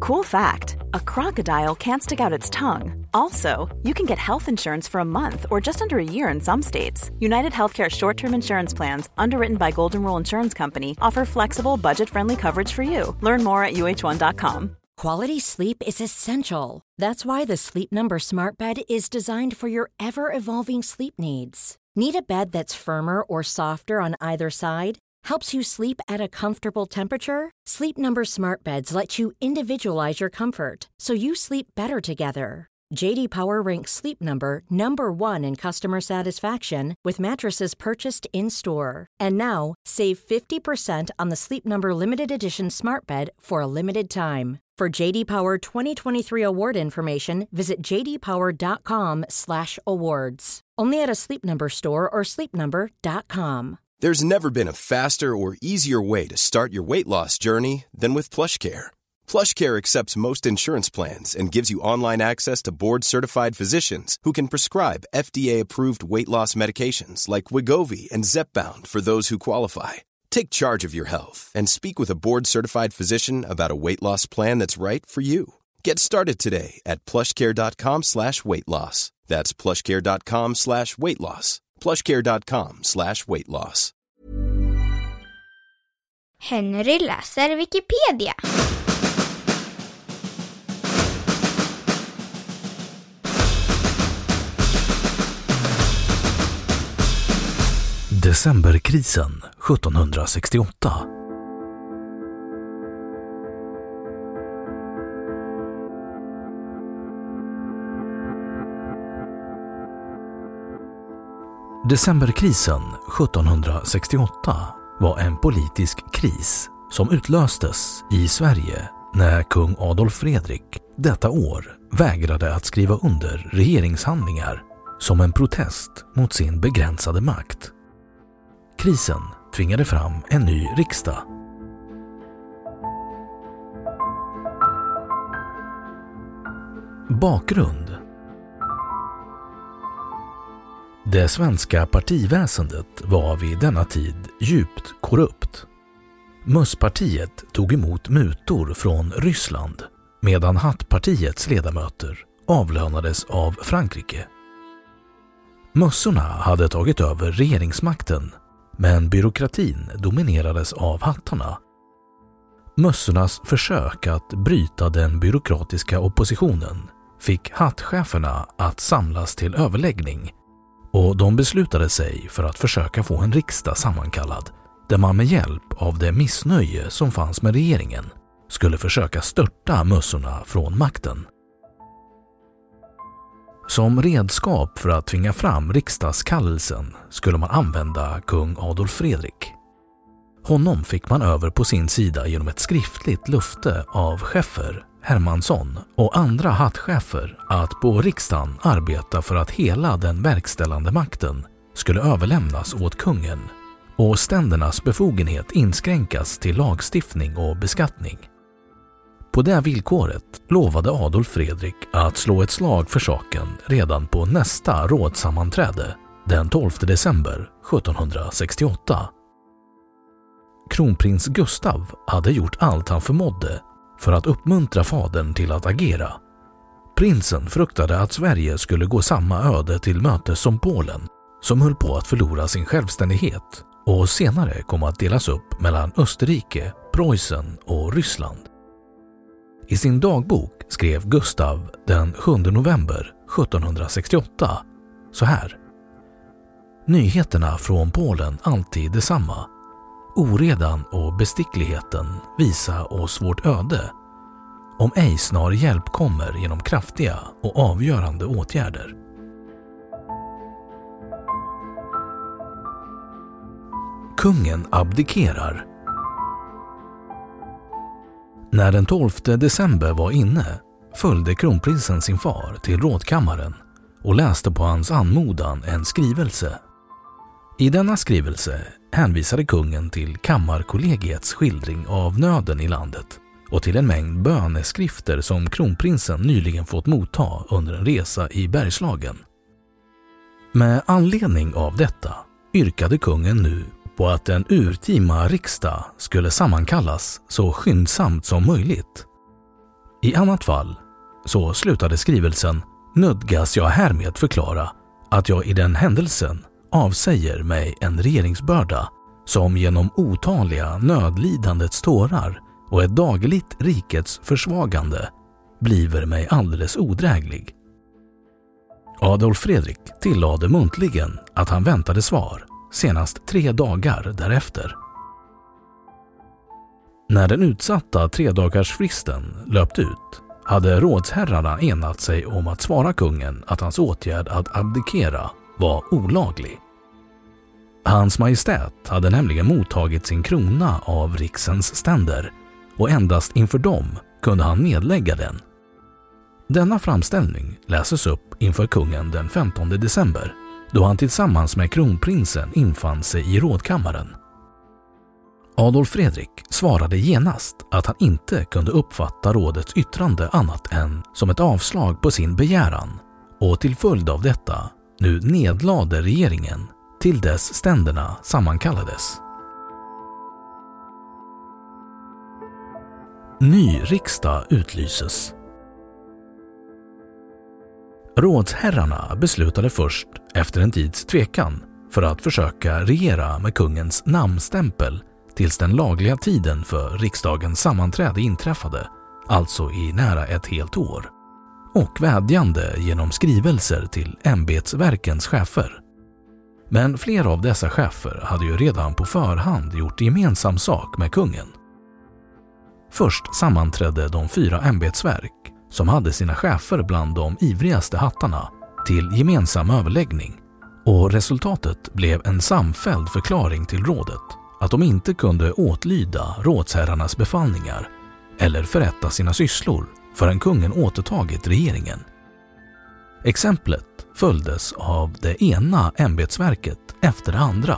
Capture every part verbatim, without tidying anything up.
Cool fact, a crocodile can't stick out its tongue. Also, you can get health insurance for a month or just under a year in some states. United Healthcare short-term insurance plans, underwritten by Golden Rule Insurance Company, offer flexible, budget-friendly coverage for you. Learn more at U H one dot com. Quality sleep is essential. That's why the Sleep Number Smart Bed is designed for your ever-evolving sleep needs. Need a bed that's firmer or softer on either side? Helps you sleep at a comfortable temperature? Sleep Number Smart Beds let you individualize your comfort so you sleep better together. J D Power ranks Sleep Number number one in customer satisfaction with mattresses purchased in-store. And now, save fifty percent on the Sleep Number Limited Edition Smart Bed for a limited time. For J D Power twenty twenty-three award information, visit j d power dot com slash awards. Only at a Sleep Number store or sleep number dot com. There's never been a faster or easier way to start your weight loss journey than with PlushCare. PlushCare accepts most insurance plans and gives you online access to board-certified physicians who can prescribe F D A-approved weight loss medications like Wegovy and Zepbound for those who qualify. Take charge of your health and speak with a board-certified physician about a weight loss plan that's right for you. Get started today at plushcare.com slash weight loss. That's plushcare.com slash weight loss. plushcare.com slash weight loss. Henry läser Wikipedia. Decemberkrisen sjuttonhundrasextioåtta. Decemberkrisen sjuttonhundrasextioåtta var en politisk kris som utlöstes i Sverige när kung Adolf Fredrik detta år vägrade att skriva under regeringshandlingar som en protest mot sin begränsade makt. Krisen tvingade fram en ny riksdag. Bakgrund. Det svenska partiväsendet var vid denna tid djupt korrupt. Mösspartiet tog emot mutor från Ryssland medan Hattpartiets ledamöter avlönades av Frankrike. Mössorna hade tagit över regeringsmakten, men byråkratin dominerades av hattarna. Mössornas försök att bryta den byråkratiska oppositionen fick hattcheferna att samlas till överläggning, och de beslutade sig för att försöka få en riksdag sammankallad där man med hjälp av det missnöje som fanns med regeringen skulle försöka störta mössorna från makten. Som redskap för att tvinga fram riksdagskallelsen skulle man använda kung Adolf Fredrik. Honom fick man över på sin sida genom ett skriftligt löfte av Scheffer, Hermansson och andra hattchefer att på riksdagen arbeta för att hela den verkställande makten skulle överlämnas åt kungen och ständernas befogenhet inskränkas till lagstiftning och beskattning. På det villkoret lovade Adolf Fredrik att slå ett slag för saken redan på nästa rådsammanträde den tolfte december sjuttonhundrasextioåtta. Kronprins Gustav hade gjort allt han förmådde för att uppmuntra fadern till att agera. Prinsen fruktade att Sverige skulle gå samma öde till möte som Polen, som höll på att förlora sin självständighet och senare kom att delas upp mellan Österrike, Preussen och Ryssland. I sin dagbok skrev Gustav den sjunde november sjuttonhundrasextioåtta så här: Nyheterna från Polen alltid detsamma. Oredan och bestickligheten visa oss vårt öde. Om ej snar hjälp kommer genom kraftiga och avgörande åtgärder. Kungen abdikerar. När den tolfte december var inne följde kronprinsen sin far till rådkammaren och läste på hans anmodan en skrivelse. I denna skrivelse hänvisade kungen till kammarkollegiets skildring av nöden i landet och till en mängd böneskrifter som kronprinsen nyligen fått motta under en resa i Bergslagen. Med anledning av detta yrkade kungen nu på att en urtima riksdag skulle sammankallas så skyndsamt som möjligt. I annat fall, så slutade skrivelsen, nödgas jag härmed förklara att jag i den händelsen avsäger mig en regeringsbörda som genom otaliga nödlidandets tårar och ett dagligt rikets försvagande bliver mig alldeles odräglig. Adolf Fredrik tillade muntligen att han väntade svar senast tre dagar därefter. När den utsatta tredagarsfristen löpt ut hade rådsherrarna enat sig om att svara kungen att hans åtgärd att abdikera var olaglig. Hans majestät hade nämligen mottagit sin krona av riksens ständer och endast inför dem kunde han nedlägga den. Denna framställning läses upp inför kungen den femtonde december då han tillsammans med kronprinsen infann sig i rådkammaren. Adolf Fredrik svarade genast att han inte kunde uppfatta rådets yttrande annat än som ett avslag på sin begäran och till följd av detta nu nedlade regeringen till dess ständerna sammankallades. Ny riksdag utlyses. Rådsherrarna beslutade först efter en tids tvekan för att försöka regera med kungens namnstämpel tills den lagliga tiden för riksdagens sammanträde inträffade, alltså i nära ett helt år, och vädjande genom skrivelser till ämbetsverkens chefer. Men flera av dessa chefer hade ju redan på förhand gjort gemensam sak med kungen. Först sammanträdde de fyra ämbetsverk som hade sina chefer bland de ivrigaste hattarna till gemensam överläggning, och resultatet blev en samfälld förklaring till rådet att de inte kunde åtlyda rådsherrarnas befallningar eller förrätta sina sysslor förrän kungen återtagit regeringen. Exemplet följdes av det ena ämbetsverket efter det andra.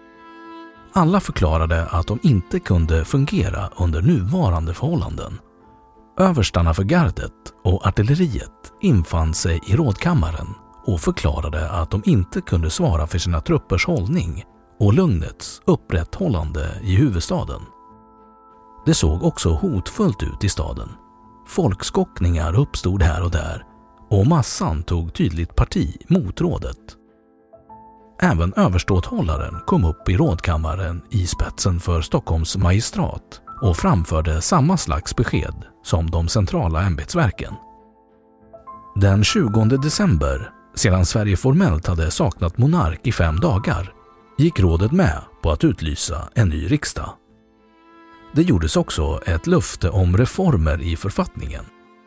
Alla förklarade att de inte kunde fungera under nuvarande förhållanden. Överstarna för gardet och artilleriet infann sig i rådkammaren och förklarade att de inte kunde svara för sina truppers hållning och lugnets upprätthållande i huvudstaden. Det såg också hotfullt ut i staden. Folkskockningar uppstod här och där och massan tog tydligt parti mot rådet. Även överståthållaren kom upp i rådkammaren i spetsen för Stockholms magistrat och framförde samma slags besked som de centrala ämbetsverken. Den tjugonde december, sedan Sverige formellt hade saknat monark i fem dagar, gick rådet med på att utlysa en ny riksdag. Det gjordes också ett löfte om reformer i författningen.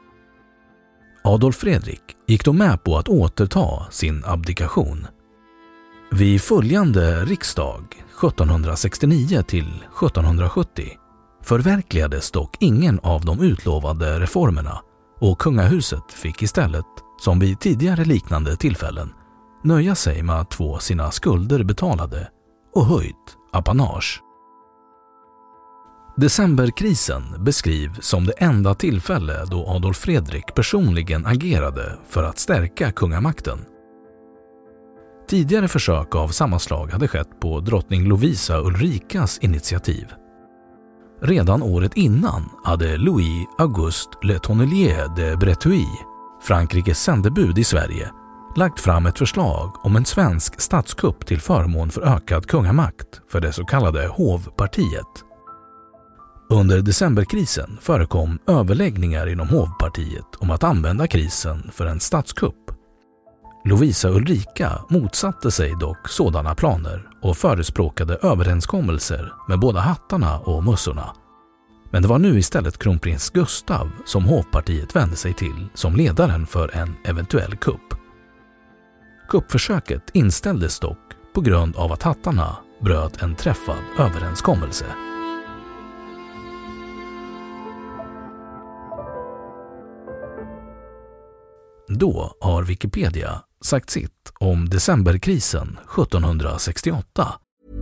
Adolf Fredrik gick då med på att återta sin abdikation. Vid följande riksdag sjuttonhundrasextionio till sjuttonhundrasjuttio förverkligades dock ingen av de utlovade reformerna och kungahuset fick istället, som vid tidigare liknande tillfällen, nöja sig med att få sina skulder betalade och höjt apanage. Decemberkrisen beskrivs som det enda tillfälle då Adolf Fredrik personligen agerade för att stärka kungamakten. Tidigare försök av samma slag hade skett på drottning Lovisa Ulrikas initiativ. Redan året innan hade Louis Auguste Le Tonnelier de Breteuil, Frankrikes sändebud i Sverige, lagt fram ett förslag om en svensk statskupp till förmån för ökad kungamakt för det så kallade hovpartiet. Under decemberkrisen förekom överläggningar inom hovpartiet om att använda krisen för en statskupp. Lovisa Ulrika motsatte sig dock sådana planer och förespråkade överenskommelser med båda hattarna och mössorna. Men det var nu istället kronprins Gustav som hovpartiet vände sig till som ledaren för en eventuell kupp. Kuppförsöket inställdes dock på grund av att hattarna bröt en träffad överenskommelse. Då har Wikipedia sagt sitt om decemberkrisen sjuttonhundrasextioåtta.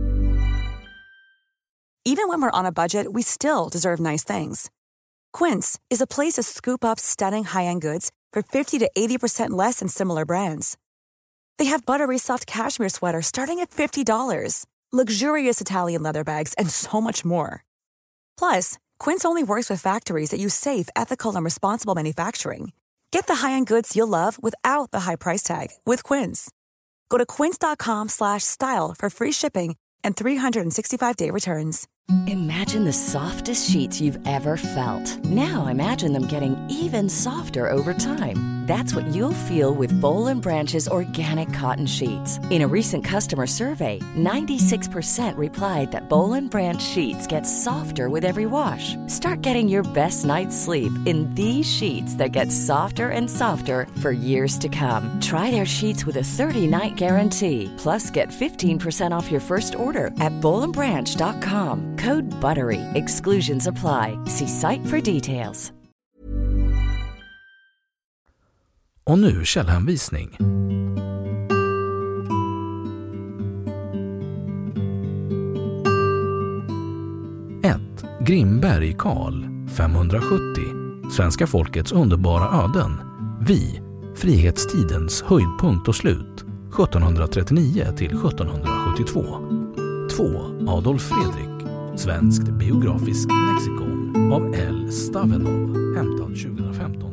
Even when we're on a budget, we still deserve nice things. Quince is a place to scoop up stunning high-end goods for fifty to eighty percent less than similar brands. They have buttery soft cashmere sweaters starting at fifty dollars, luxurious Italian leather bags, and so much more. Plus, Quince only works with factories that use safe, ethical, and responsible manufacturing. Get the high-end goods you'll love without the high price tag with Quince. Go to quince.com slash style for free shipping and three sixty-five day returns. Imagine the softest sheets you've ever felt. Now imagine them getting even softer over time. That's what you'll feel with Boll and Branch's organic cotton sheets. In a recent customer survey, ninety-six percent replied that Boll and Branch sheets get softer with every wash. Start getting your best night's sleep in these sheets that get softer and softer for years to come. Try their sheets with a thirty-night guarantee. Plus, get fifteen percent off your first order at boll and branch dot com. Code BUTTERY. Exclusions apply. See site for details. Och nu källhänvisning. ett. Grimberg Karl femhundrasjuttio. Svenska folkets underbara öden. Vi. Frihetstidens höjdpunkt och slut. sjuttonhundratrettionio till sjuttonhundrasjuttiotvå. två. Adolf Fredrik. Svenskt biografiskt lexikon av L. Stavenov, hämtad tjugohundrafemton.